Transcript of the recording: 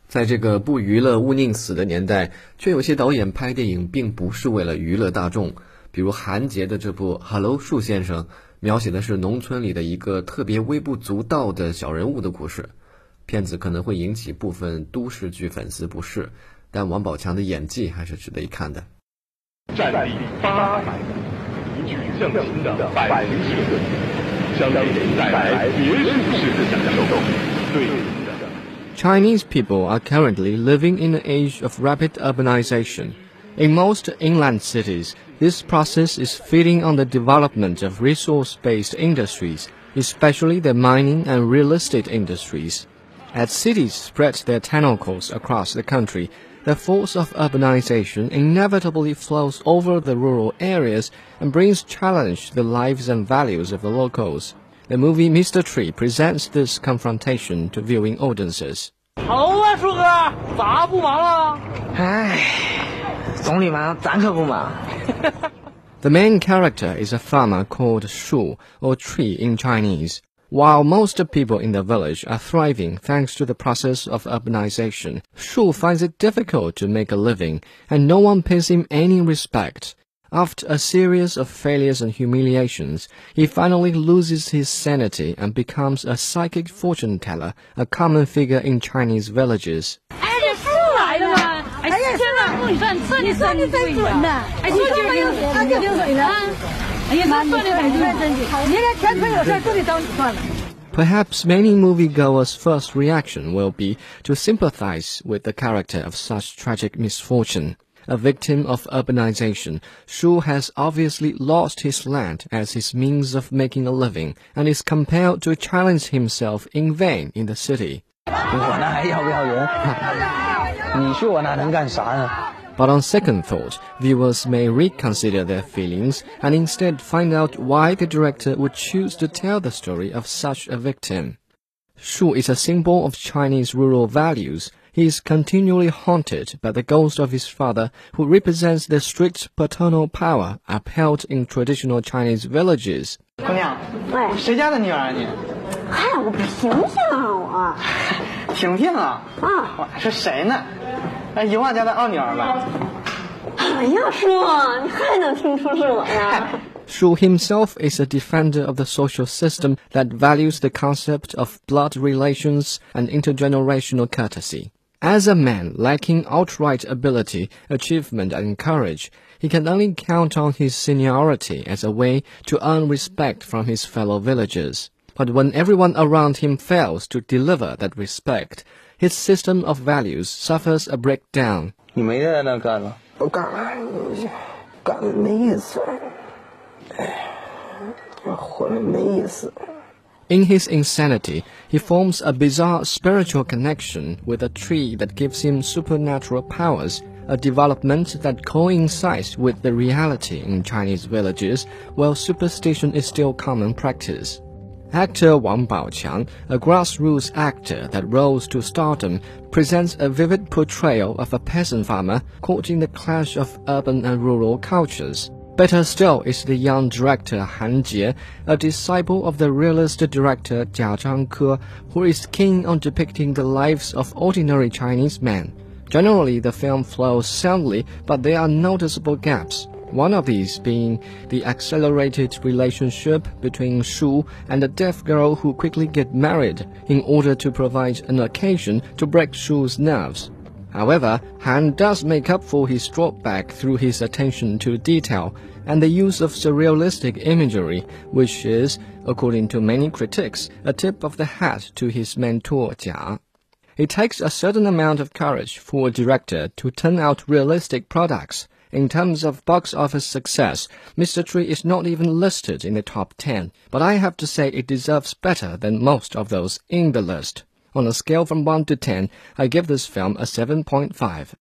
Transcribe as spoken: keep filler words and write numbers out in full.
在这个不娱乐勿宁死的年代，却有些导演拍电影并不是为了娱乐大众。比如韩杰的这部《Hello 树先生》，描写的是农村里的一个特别微不足道的小人物的故事。片子可能会引起部分都市剧粉丝不适，但王宝强的演技还是值得一看的。 战地八百米，一举匠心的百灵设计，将给您带来别墅式的享受。对您的 Chinese people are currently living in an age of rapid urbanization. In most inland cities, this process is feeding on the development of resource-based industries, especially the mining and real estate industries. As cities spread their tentacles across the country, the force of urbanization inevitably flows over the rural areas and brings challenge to the lives and values of the locals. The movie Mister Tree presents this confrontation to viewing audiences. 好啊，树哥，咋不忙了？ 唉，总理忙，咱可不忙。 The main character is a farmer called Shu, or tree in Chinese. While most people in the village are thriving thanks to the process of urbanization, Shu finds it difficult to make a living, and no one pays him any respect. After a series of failures and humiliations, he finally loses his sanity and becomes a psychic fortune teller, a common figure in Chinese villages. 哎，这树来了吗？哎呀，天哪！你算算的算的对呀！哎，你今儿有他就流水了。哎呀，他算的太准，你这天天有事都得找你算了。 Perhaps many moviegoers' first reaction will be to sympathize with the character of such tragic misfortune. A victim of urbanization, Shu has obviously lost his land as his means of making a living and is compelled to challenge himself in vain in the city. 我那还要不要人？你说我那能干啥呢？ But on second thought, viewers may reconsider their feelings and instead find out why the director would choose to tell the story of such a victim. Shu is a symbol of Chinese rural values. He is continually haunted by the ghost of his father, who represents the strict paternal power upheld in traditional Chinese villages. 姑娘， 喂， 谁家的女儿啊你？ 哎，我不醒醒啊我。 婷婷啊？ 啊， 我是谁呢？哎，油旺家的二女儿吧？ 哎呀，叔，你还能听出是我呀？ Shu himself is a defender of the social system that values the concept of blood relations and intergenerational courtesy. As a man lacking outright ability, achievement, and courage, he can only count on his seniority as a way to earn respect from his fellow villagers. But when everyone around him fails to deliver that respect, his system of values suffers a breakdown. 你没在那干了？ 我干了，干了没意思。活了没意思。 In his insanity, he forms a bizarre spiritual connection with a tree that gives him supernatural powers, a development that coincides with the reality in Chinese villages, while superstition is still common practice. Actor Wang Baoqiang, a grassroots actor that rose to stardom, presents a vivid portrayal of a peasant farmer caught in the clash of urban and rural cultures. Better still is the young director Han Jie, a disciple of the realist director Jia Zhangke, who is keen on depicting the lives of ordinary Chinese men. Generally, the film flows soundly, but there are noticeable gaps. One of these being the accelerated relationship between Shu and a deaf girl who quickly get married in order to provide an occasion to break Shu's nerves. However, Han does make up for his drawback through his attention to detail and the use of surrealistic imagery, which is, according to many critics, a tip of the hat to his mentor Jia. It takes a certain amount of courage for a director to turn out realistic products. In terms of box office success, Mister Tree is not even listed in the top ten, but I have to say it deserves better than most of those in the list. On a scale from one to ten, I give this film a seven point five.